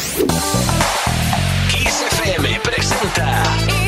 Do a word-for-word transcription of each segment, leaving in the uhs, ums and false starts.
Kiss F M presenta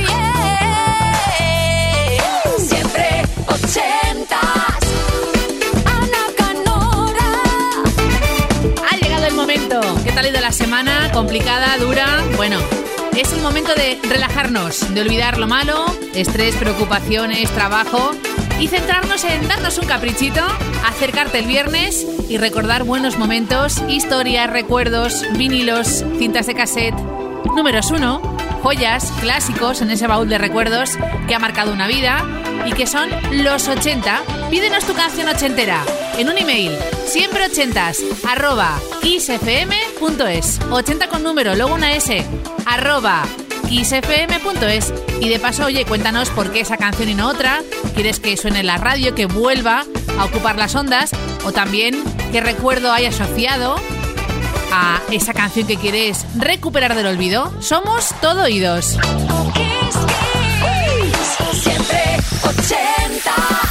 yeah, siempre ochentas. Ana Canora. Ha llegado el momento. ¿Qué tal ha ido la semana? ¿Complicada? ¿Dura? Bueno, es el momento de relajarnos, de olvidar lo malo, estrés, preocupaciones, trabajo, y centrarnos en darnos un caprichito, acercarte el viernes y recordar buenos momentos, historias, recuerdos, vinilos, cintas de cassette, números uno, joyas, clásicos en ese baúl de recuerdos que ha marcado una vida y que son los ochenta. Pídenos tu canción ochentera en un email, siempre ochentas, arroba kissfm.es, ochenta con número, luego una S, arroba kissfm.es. Y de paso, oye, cuéntanos por qué esa canción y no otra. ¿Quieres que suene en la radio, que vuelva a ocupar las ondas? O también, ¿qué recuerdo hay asociado a esa canción que quieres recuperar del olvido? Somos todo oídos. Kiss, Kiss, siempre ochentas.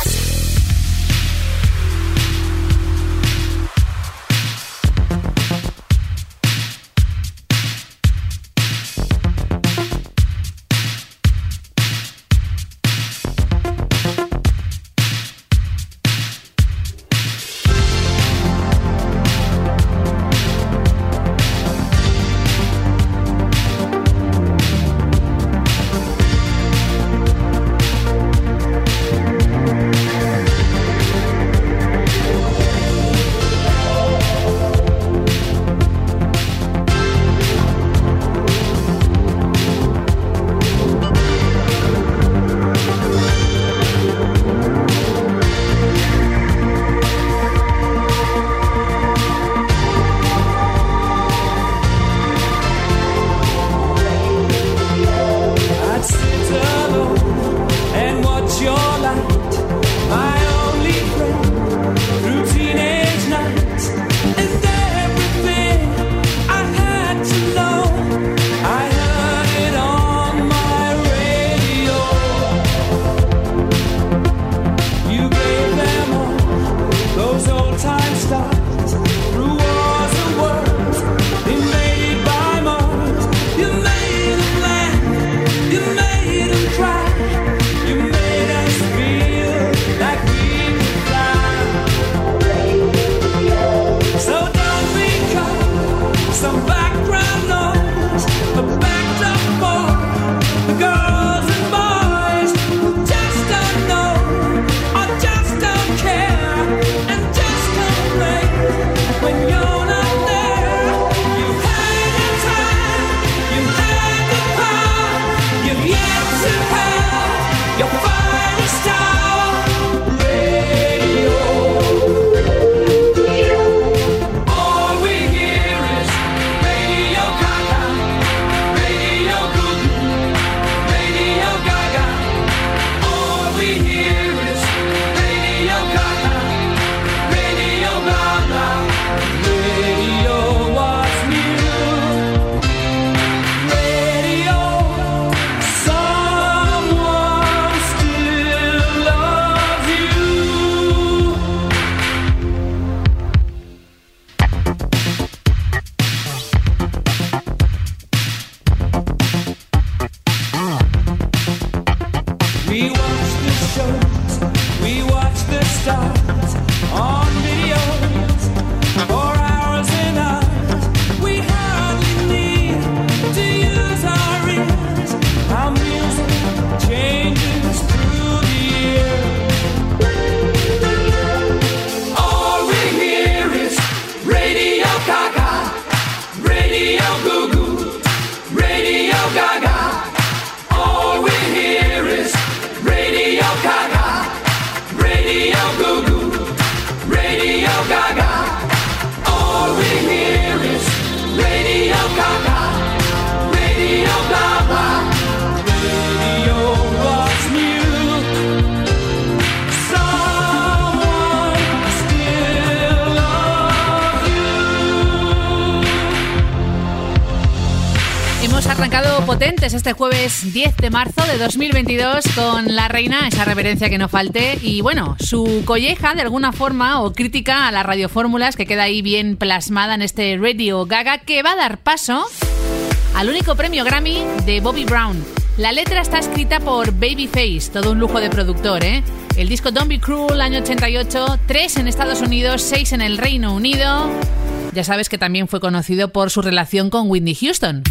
Arrancado potentes este jueves diez de marzo de dos mil veintidós con La Reina, esa reverencia que no falte, y bueno, su colleja de alguna forma o crítica a las radiofórmulas que queda ahí bien plasmada en este Radio Gaga, que va a dar paso al único premio Grammy de Bobby Brown. La letra está escrita por Babyface, todo un lujo de productor, ¿eh? El disco Don't Be Cruel, año ochenta y ocho, tres en Estados Unidos, seis en el Reino Unido. Ya sabes que también fue conocido por su relación con Whitney Houston.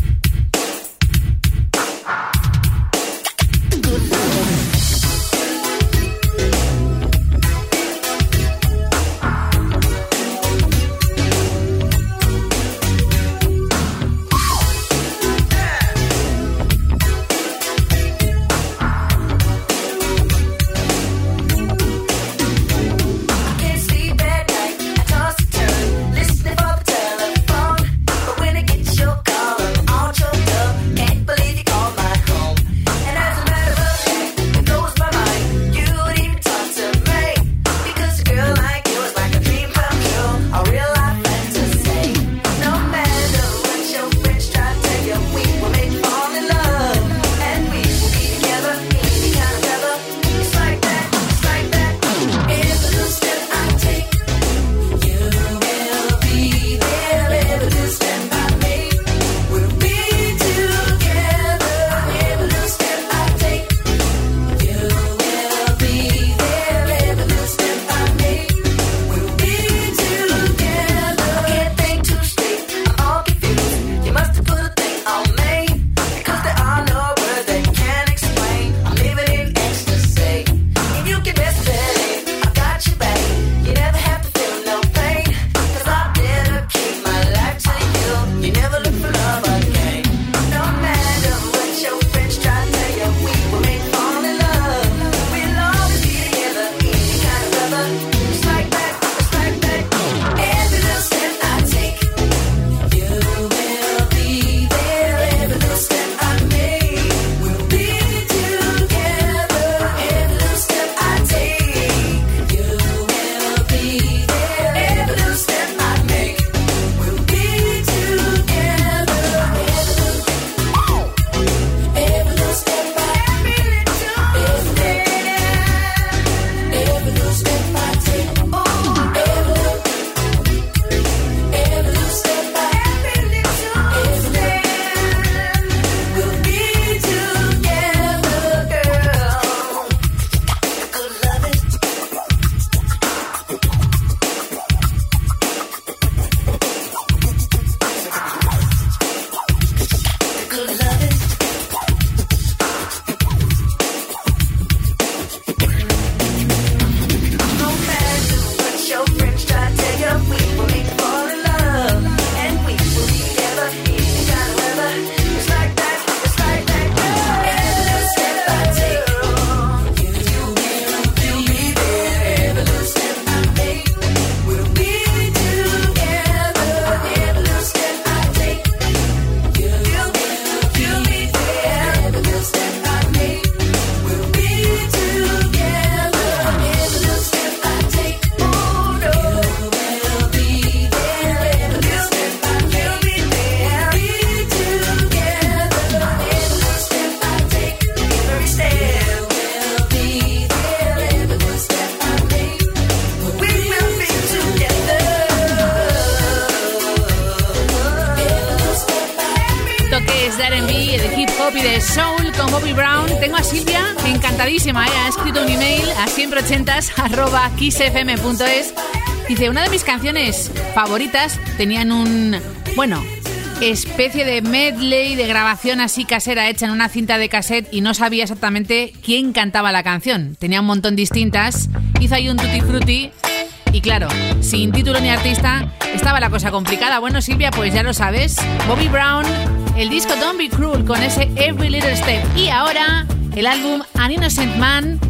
pop y de soul con Bobby Brown. Tengo a Silvia encantadísima, ¿eh? Ha escrito un email a siempre ochentas arroba kiss f m punto es. Dice, una de mis canciones favoritas tenían un, bueno, especie de medley de grabación así casera hecha en una cinta de cassette y no sabía exactamente quién cantaba la canción. Tenía un montón distintas, hizo ahí un tutti frutti y claro, sin título ni artista estaba la cosa complicada. Bueno, Silvia, pues ya lo sabes, Bobby Brown, el disco Don't Be Cruel con ese Every Little Step y ahora el álbum An Innocent Man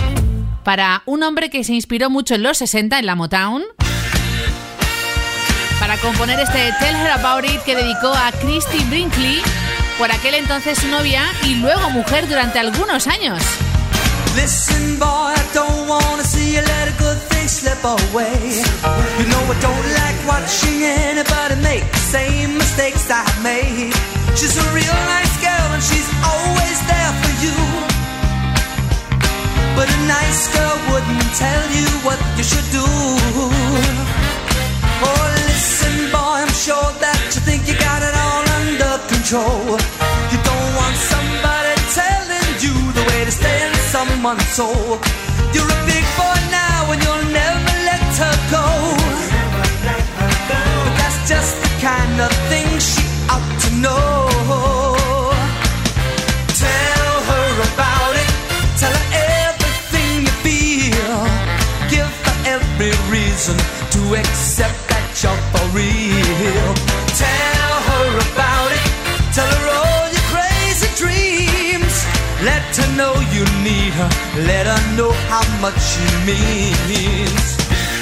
para un hombre que se inspiró mucho en los sesenta en la Motown para componer este Tell Her About It que dedicó a Christie Brinkley, por aquel entonces su novia y luego mujer durante algunos años. Listen, boy, I don't wanna see you let a good thing slip away. You know I don't like watching anybody make the same mistakes I made. She's a real nice girl and she's always there for you. But a nice girl wouldn't tell you what you should do. Oh, listen, boy, I'm sure that you think you got it all under control. someone so. You're a big boy now and you'll never let her go. But that's just the kind of thing she ought to know. Tell her about it. Tell her everything you feel. Give her every reason to accept that you're for real. Tell her about it. Tell her all your crazy dreams. Let her know you need her. Let her know how much she means.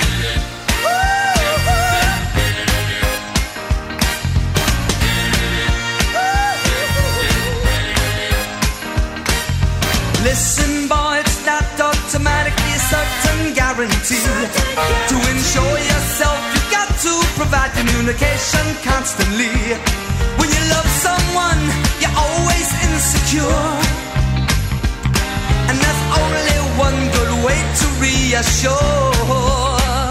Listen, boy, it's not automatically a certain guarantee. To ensure yourself, you got to provide communication constantly. When you love someone, you're always insecure. And there's only one good way to reassure.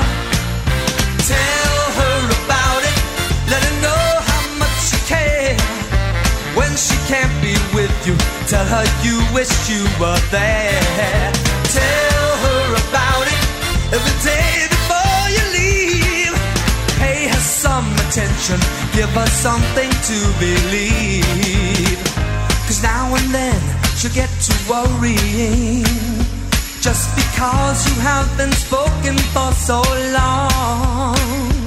Tell her about it. Let her know how much you care. When she can't be with you, tell her you wish you were there. Tell her about it every day before you leave. Pay her some attention, give her something to believe. Cause now and then she'll get to worrying, just because you have been spoken for so long.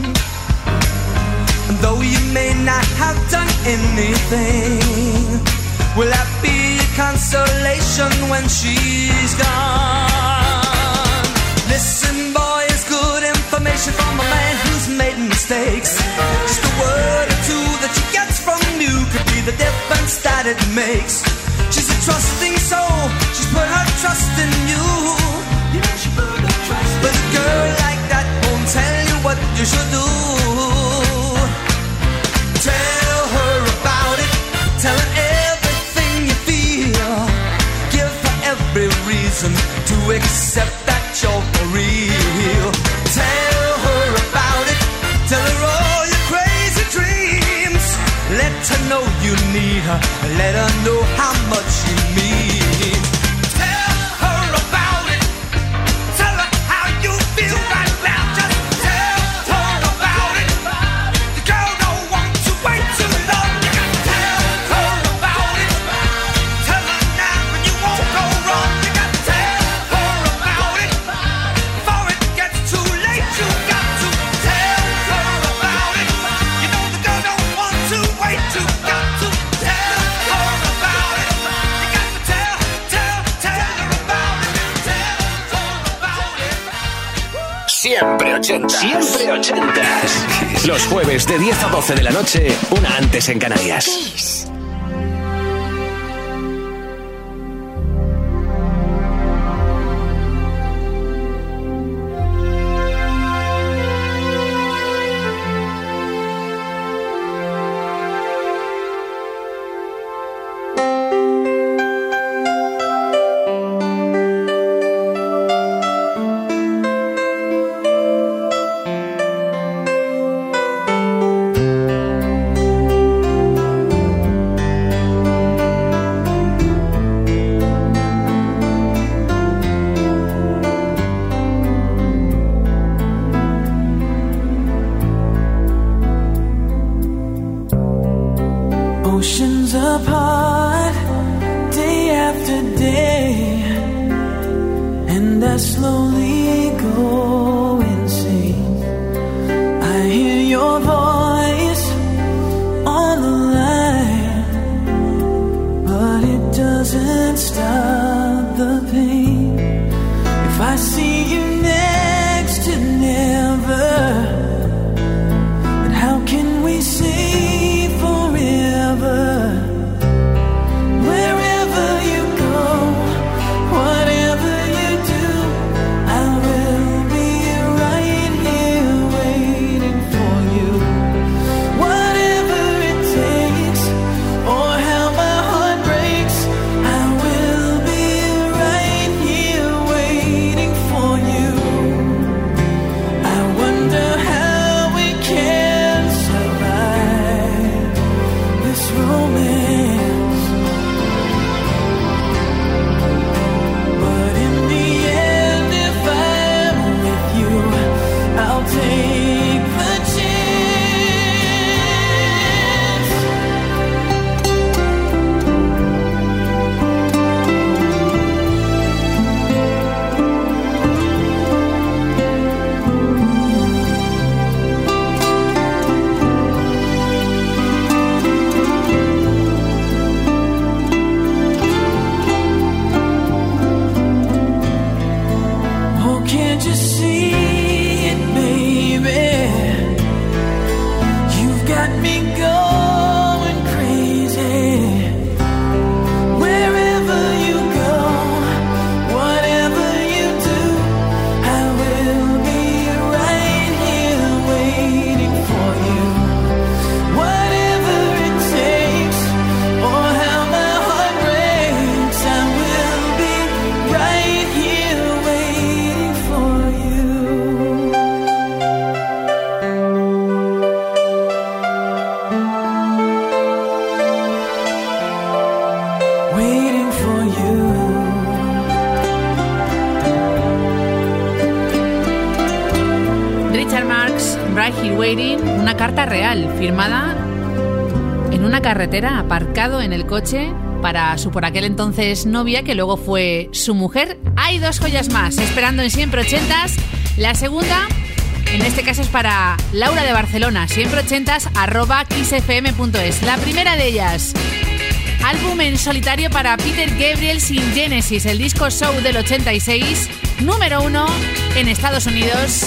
And though you may not have done anything, will that be a consolation when she's gone? Listen, boy, it's good information from a man who's made mistakes. Just a word or two that she gets from you could be the difference that it makes. She's a trusting soul, she's put her trust in you. You know she put her trust in you. But a girl like that won't tell you what you should do. Tell her about it, tell her everything you feel. Give her every reason to accept that you're for real. Tell her about it, tell her all your crazy dreams. Let her know you need her, let her know how much you mean. Tell her about it, tell her how you feel right now. Just tell her about it. The girl don't want to wait too long. You gotta tell her about it. Tell her now and you won't go wrong. You gotta tell her about it before it gets too late. You got to tell her about it. You know the girl don't want to wait. You got to tell her about it. You got to tell, tell, tell her about it. Tell her about it. Siempre ochentas. Siempre ochentas. Los jueves de diez a doce de la noche, una antes en Canarias. Kiss. Oceans apart, day after day, and I slowly go insane. I hear your voice on the line, but it doesn't stop the pain. If I see you next to never, then how can we say forever? Wherever you go, whatever you do, I will be right here waiting for you. Whatever it takes, or how my heart breaks, I will be right here waiting for you. I wonder how we can survive this romance, but in Right Here Waiting, una carta real, firmada en una carretera, aparcado en el coche para su por aquel entonces novia, que luego fue su mujer. Hay dos joyas más esperando en Siempre Ochentas. La segunda, en este caso, es para Laura de Barcelona, siempre ochentas arroba kissfm punto es. La primera de ellas, álbum en solitario para Peter Gabriel sin Genesis, el disco Show del ochenta y seis, número uno en Estados Unidos,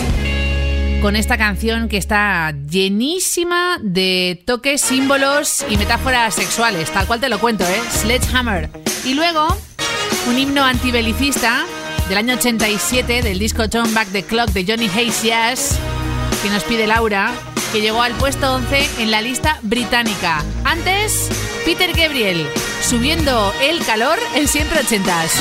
con esta canción que está llenísima de toques, símbolos y metáforas sexuales, tal cual te lo cuento, ¿eh? Sledgehammer. Y luego, un himno antibelicista del año ochenta y siete, del disco Turn Back the Clock de Johnny Hayes Jazz, que nos pide Laura, que llegó al puesto once en la lista británica. Antes, Peter Gabriel, subiendo el calor en Siempre Ochentas.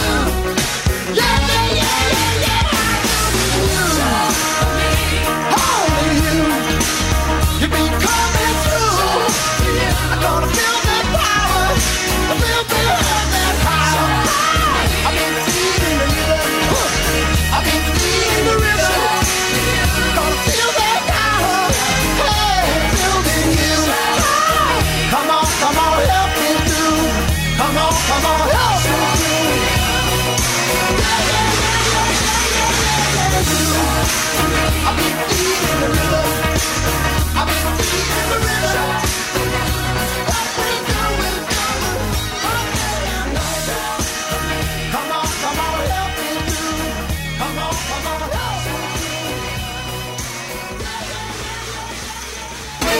Oh!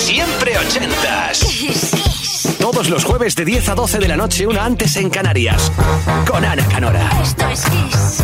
Siempre ochentas. Todos los jueves de diez a doce de la noche, una antes en Canarias. Con Ana Canora. Esto es Kiss.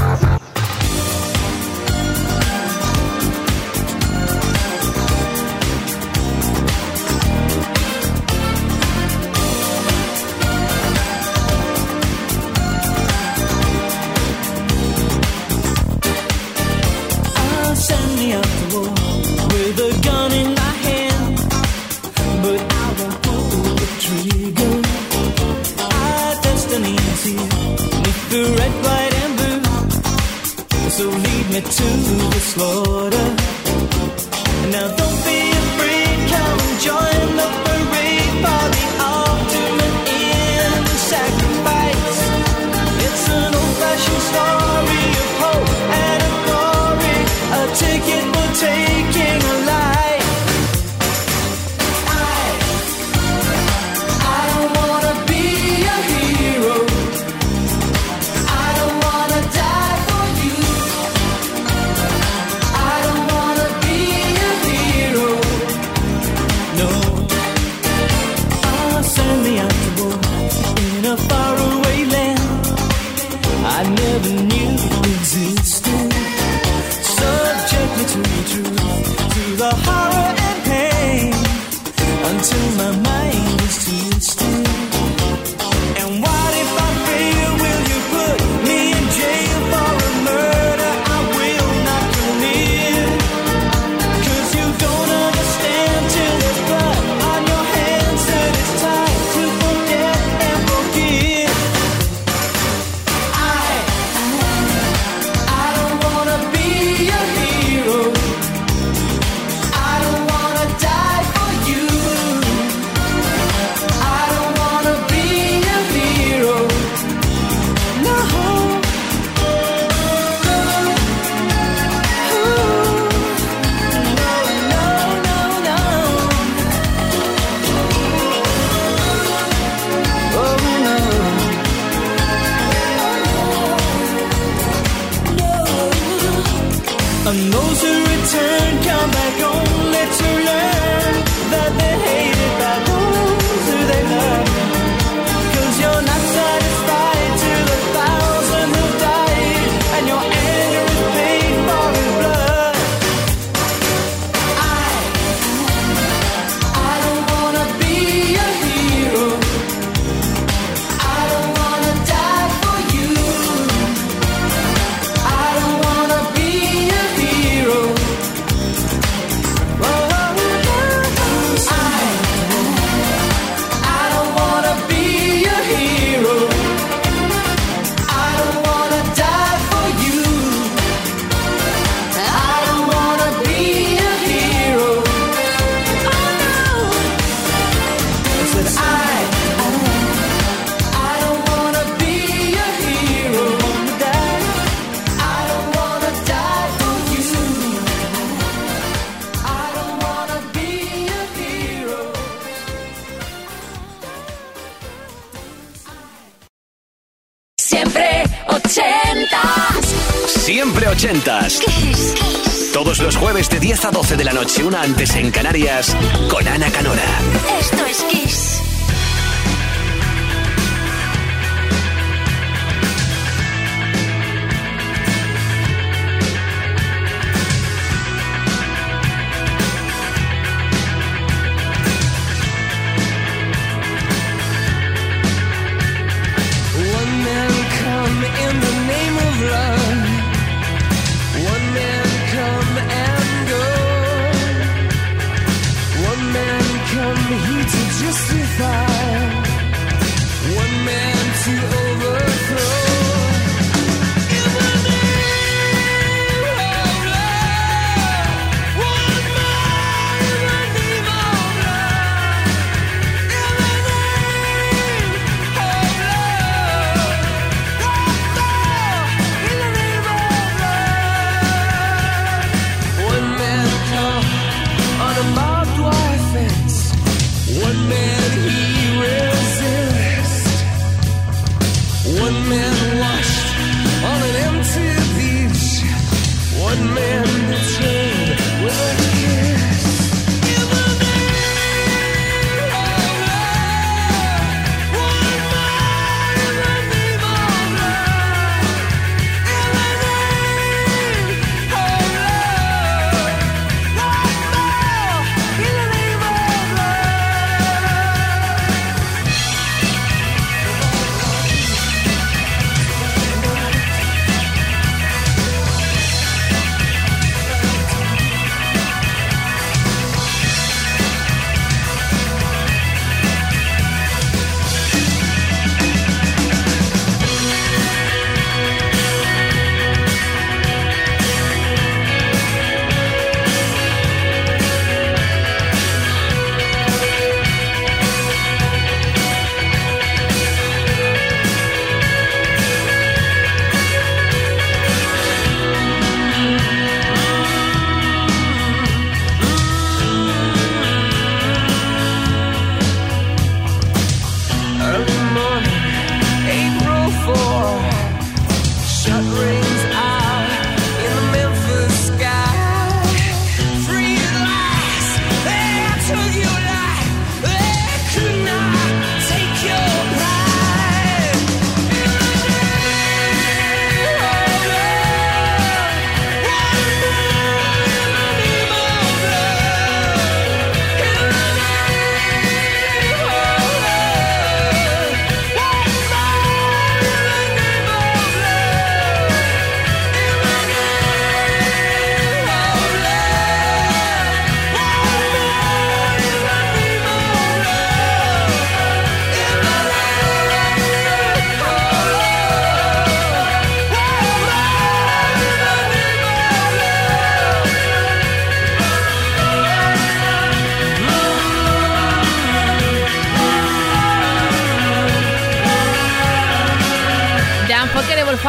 To the slaughter. Now don't be afraid, come and join the parade for the ultimate in sacrifice. It's an old-fashioned story of hope and of glory, a ticket for taking a life. I, I don't wanna be a hero. I don't wanna die for you. Faraway land I never knew existed. Subject me to the truth, to the horror and pain, until my mind is twisted. And what if I fail? Will you put me in jail for a murder I will not commit? 'Cause you don't understand till there's blood on your hands, that it's time to forget and forgive. I, I don't wanna be a hero. I don't wanna die for you. I don't wanna be a hero. No. And those who return come back only to learn that they're hated by those who they love. 'Cause you're not satisfied to the thousand who died, and your anger is paid for in blood. I, I don't wanna be a hero. I don't wanna die for you. I don't wanna be a hero. Oh, I, I don't wanna be a hero. I don't wanna die for you. I don't wanna be a hero. Oh no. I said I, I don't wanna be a hero. Wanna die. I don't wanna die for you. I don't wanna be a hero. Siempre ochentas. Siempre ochentas. Todos los jueves de diez a doce de la noche, una antes en Canarias. Con Ana Canora. Esto es Kiss. One man come in the name of love. One man come and go. One man come here to justify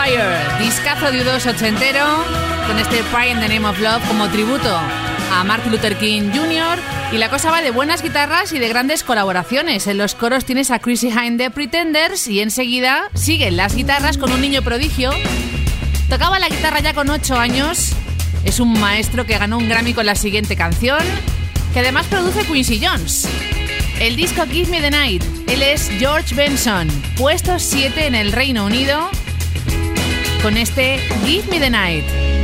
Fire, discazo de U dos ochentero, con este Pride in the Name of Love como tributo a Martin Luther King junior Y la cosa va de buenas guitarras y de grandes colaboraciones. En los coros tienes a Chrissie Hynde de Pretenders y enseguida siguen las guitarras con un niño prodigio. Tocaba la guitarra ya con ocho años. Es un maestro que ganó un Grammy con la siguiente canción, que además produce Quincy Jones. El disco Give Me the Night. Él es George Benson, puesto siete en el Reino Unido, con este Give Me the Night.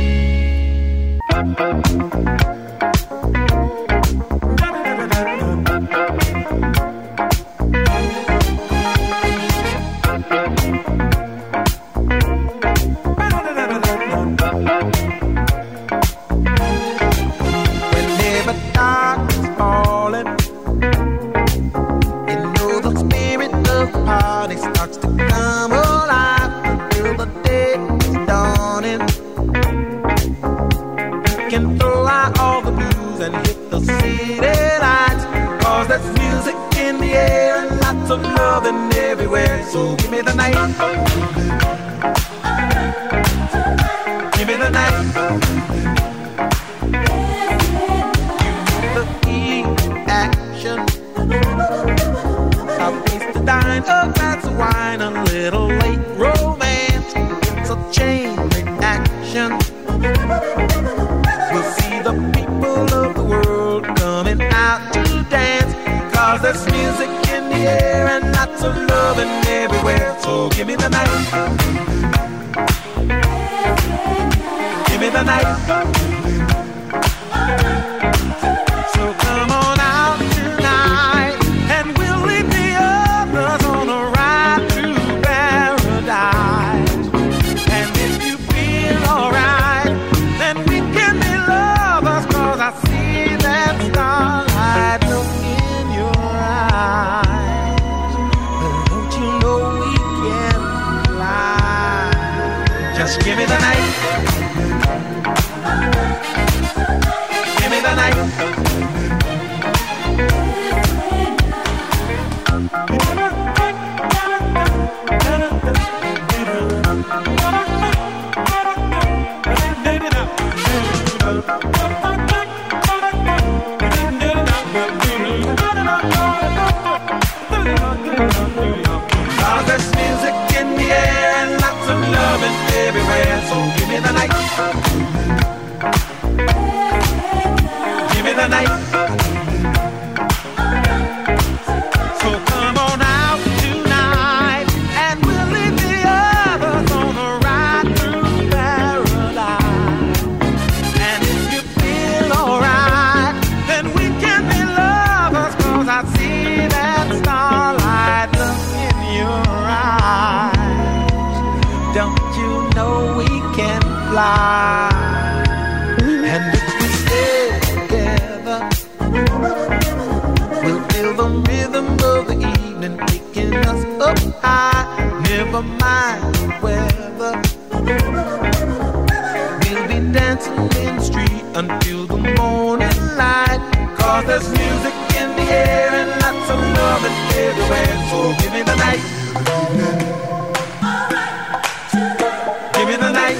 So give me the night. Give me the night. The key action. A place to dine, a glass of wine, a little late romance. It's a chain reaction. We'll see the people of the world coming out to dance. Cause there's music in the air and lots of loving everywhere. So give me the night. Give me the night. So come on out tonight and we'll leave the others on a ride to paradise. And if you feel alright, then we can be lovers. Cause I see that starlight look in your eyes. Just give me the night. Give me the night. Cause there's music in the air and lots of loving everywhere. So give me the night. Give me the night. So come on out tonight and we'll leave the others on a ride through paradise. And if you feel alright, then we can be lovers. Cause I see that starlight look in your eyes. Don't you know we can fly? And if we stay together, we'll feel the rhythm of the evening taking us up high. Never mind the weather, we'll be dancing in the street until the morning light. Cause there's music in the air and lots of love everywhere. So give me the night. Give me the night.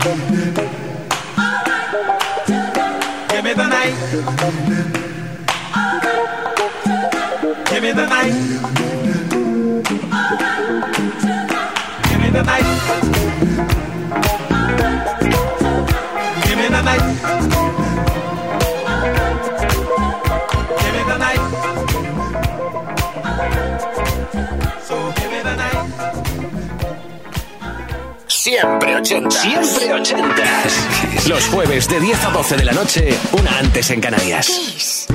Give me the night. Give me the night. Give me the night. Give me the night. Give me the night. So give me the night. Siempre ochentas. Siempre ochentas. Los jueves de diez a doce de la noche, una antes en Canarias. Kiss.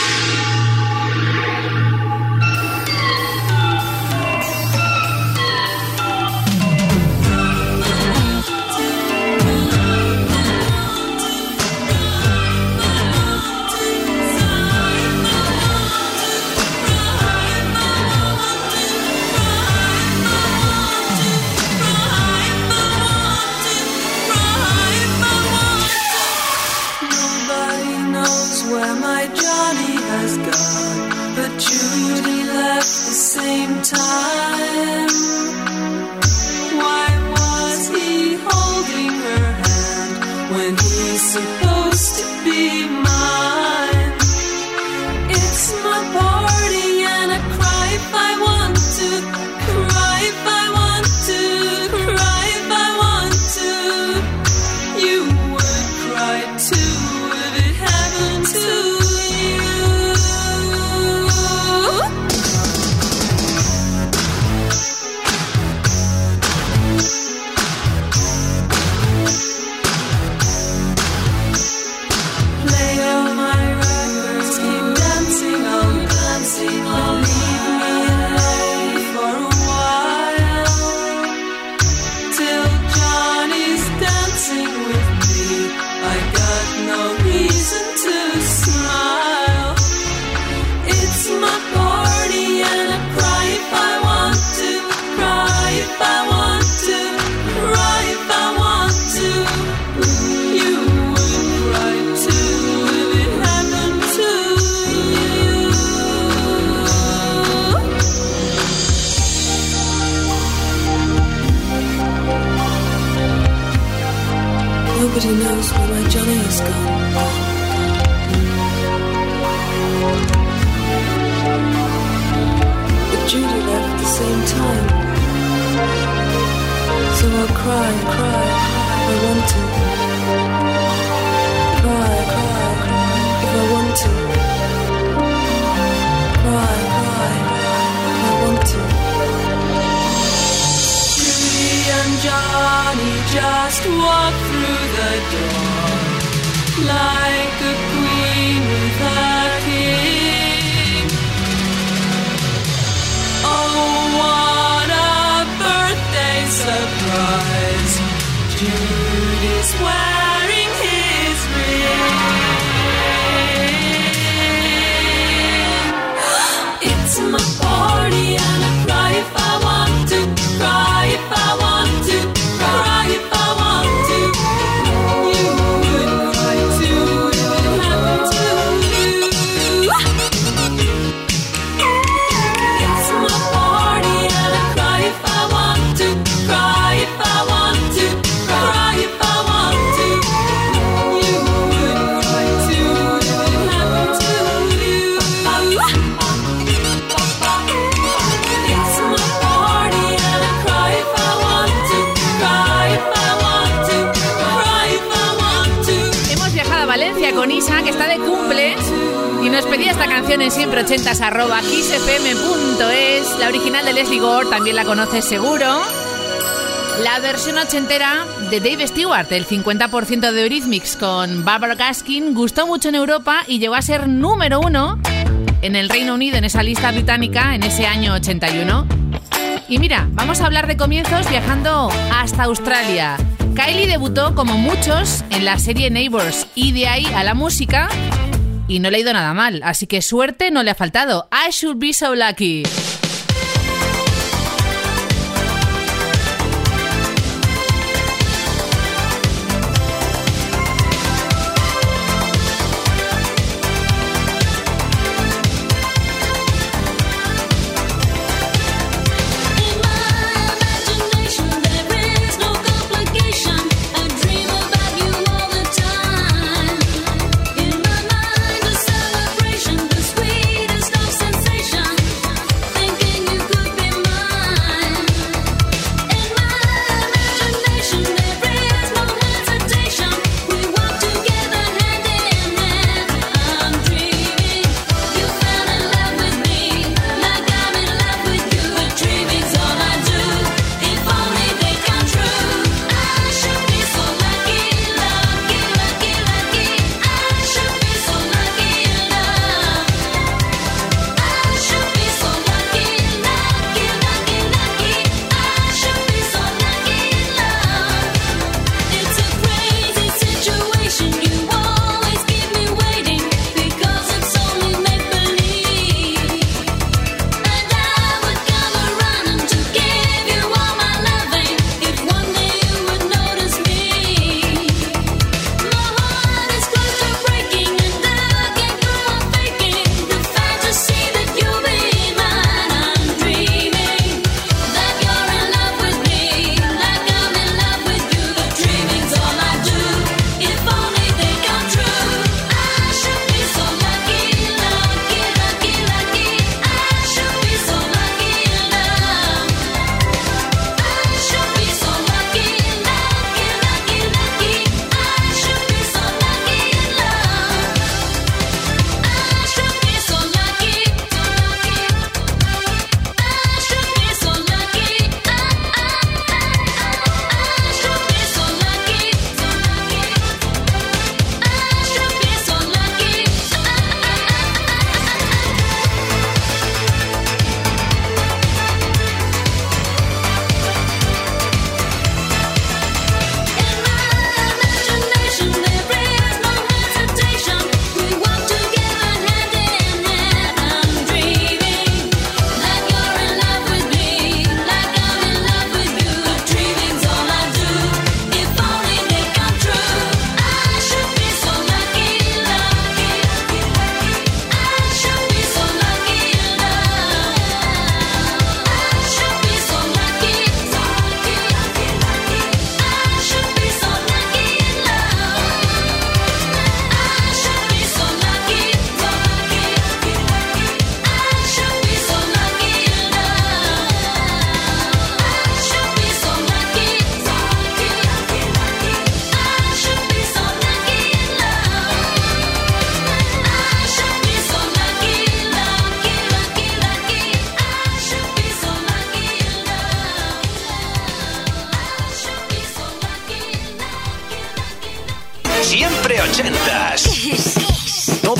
Where my Johnny has gone, but Judy left the same time. Why was he Nobody knows where my Johnny has gone. But Judy left at the same time. So I'll cry, cry, if I want to. Cry, cry, if I want to. Cry, cry, if I want to. Judy and Johnny just walk through the door like a queen with a king. Oh, what a birthday surprise! Judy's wearing his ring. It's my party and I cry if I want to, cry if I want to, cry if I want to. You would cry too if it happened to you. It's my party and I cry if I want to, cry if I want to, cry if I want to. You would cry too if it happened to you. It's my party and I cry if I want to, cry if I want to, cry if I want to. Hemos viajado a Valencia con Isa, que está de cumple, y nos pedía esta canción en siempre ochentas arroba kissfm punto es. La original de Leslie Gore, también la conoces seguro. La versión ochentera de Dave Stewart, el cincuenta por ciento de Eurythmics con Barbara Gaskin, gustó mucho en Europa y llegó a ser número uno en el Reino Unido, en esa lista británica, en ese año ochenta y uno. Y mira, vamos a hablar de comienzos viajando hasta Australia. Kylie debutó, como muchos, en la serie Neighbours, y de ahí a la música, y no le ha ido nada mal, así que suerte no le ha faltado. I should be so lucky. In my imagination there is no complication. I dream about you all the time. In my mind a celebration, the sweetest of sensations.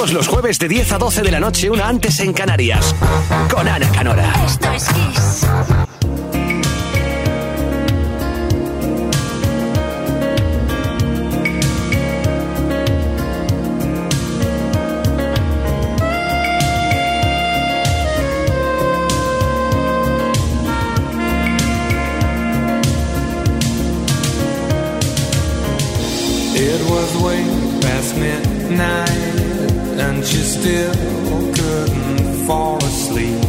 Todos los jueves de diez a doce de la noche, una antes en Canarias. Con Ana Canora. Esto es Kiss. It was way past midnight and she still couldn't fall asleep.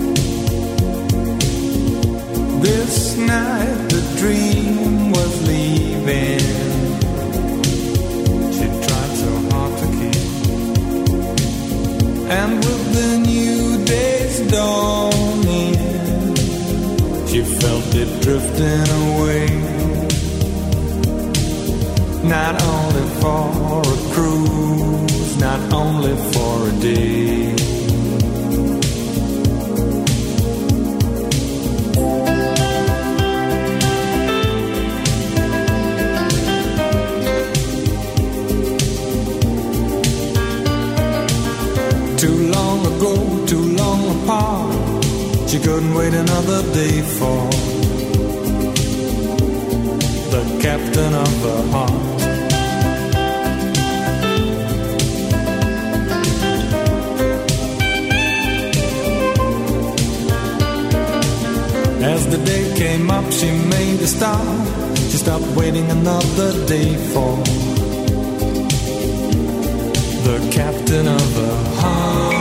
This night the dream was leaving. She tried so hard to keep. And with the new day's dawning, she felt it drifting away. Not only for a cruise, not only for a day. Too long ago, too long apart, she couldn't wait another day for the captain of her heart. As the day came up, she made a stop. She stopped waiting another day for the captain of her heart.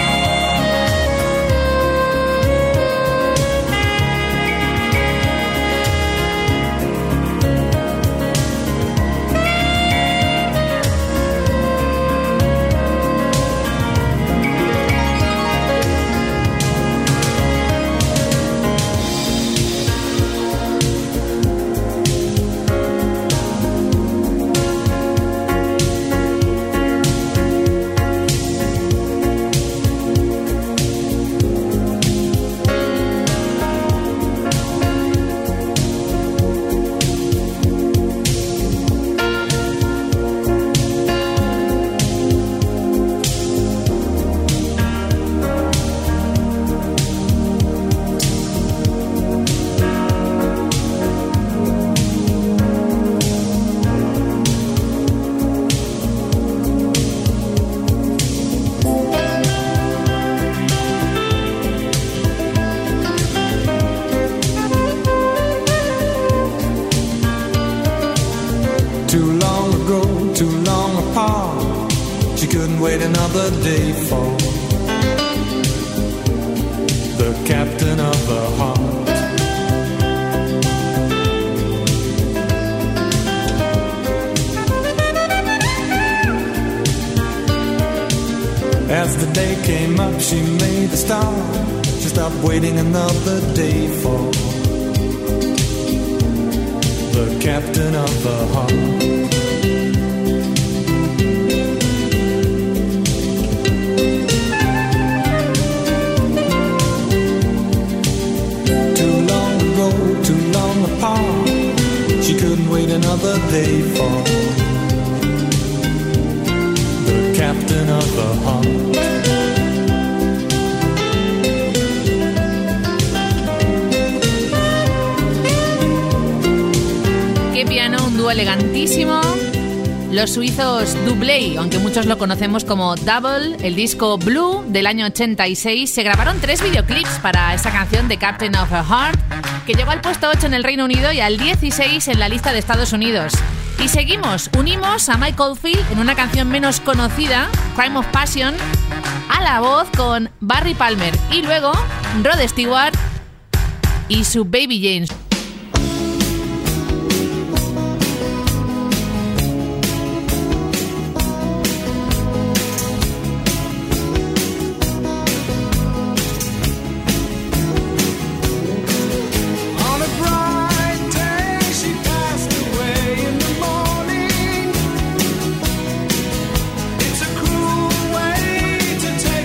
Wait another day for the captain of the heart. As the day came up, she made a start. She stopped waiting another day for the captain of the heart. She couldn't wait another day for the captain of the heart. Qué piano, un dúo elegantísimo. Los suizos Double, aunque muchos lo conocemos como Double, el disco Blue del año ochenta y seis, se grabaron tres videoclips para esa canción de Captain of a Heart, que llegó al puesto ocho en el Reino Unido y al dieciséis en la lista de Estados Unidos. Y seguimos, unimos a Mike Oldfield en una canción menos conocida, Crime of Passion, a la voz con Barry Palmer y luego Rod Stewart y su Baby James.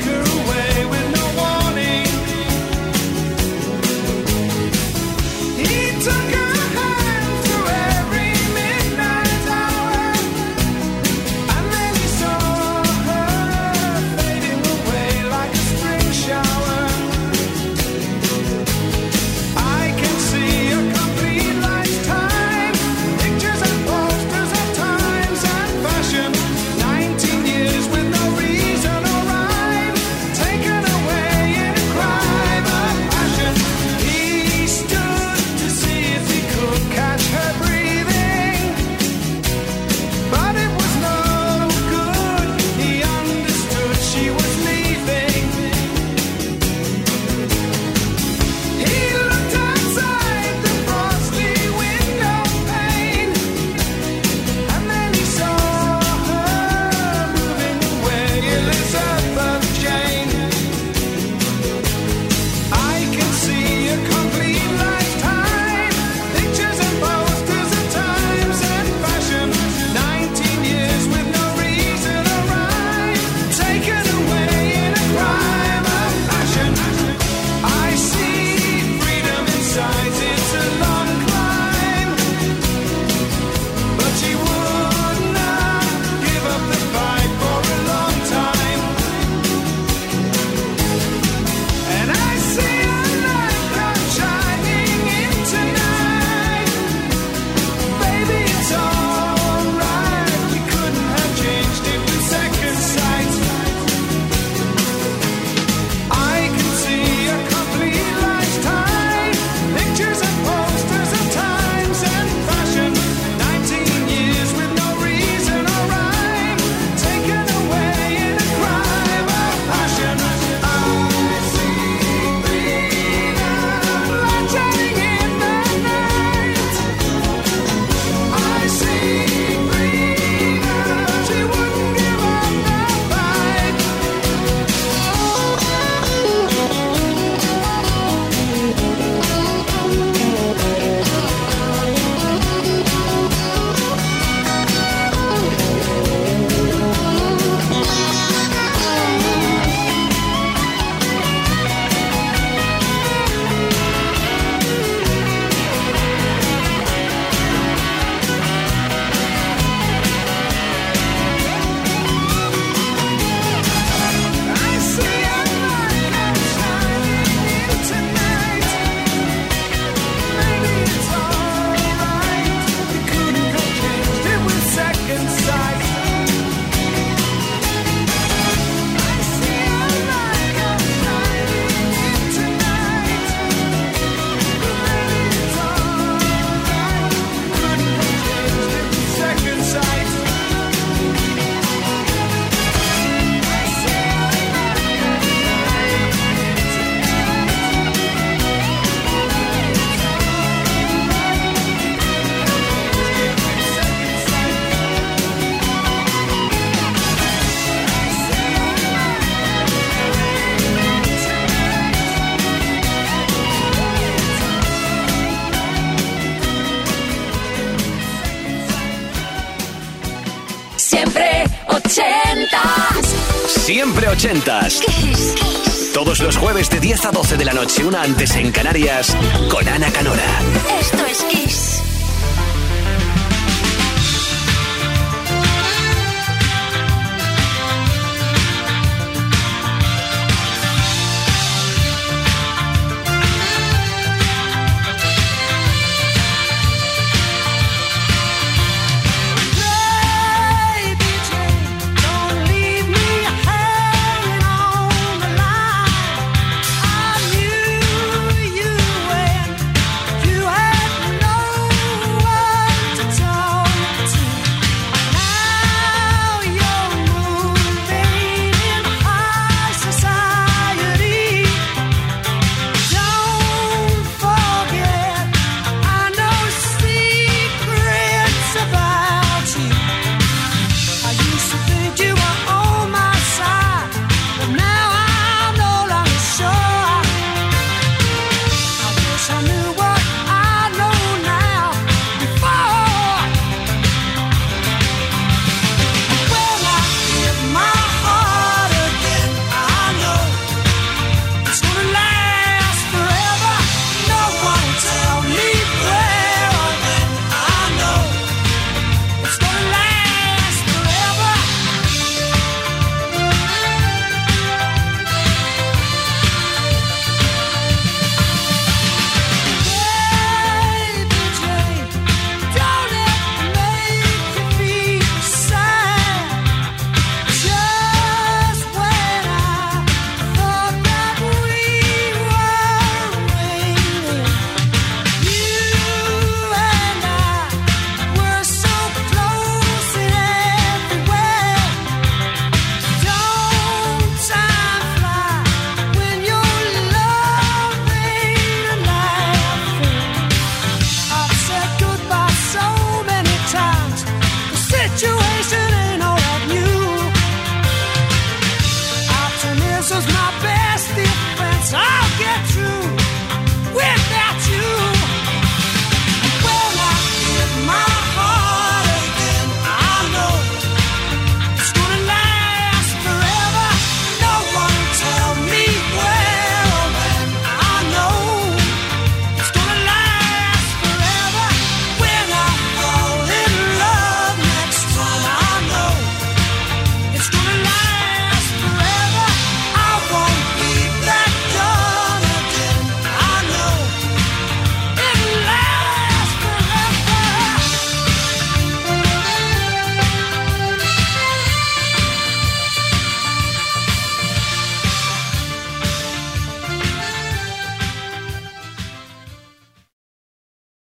He Siempre ochentas. Kiss. Kiss. Todos los jueves de diez a doce de la noche, una antes en Canarias, con Ana Canora. Esto es Kiss.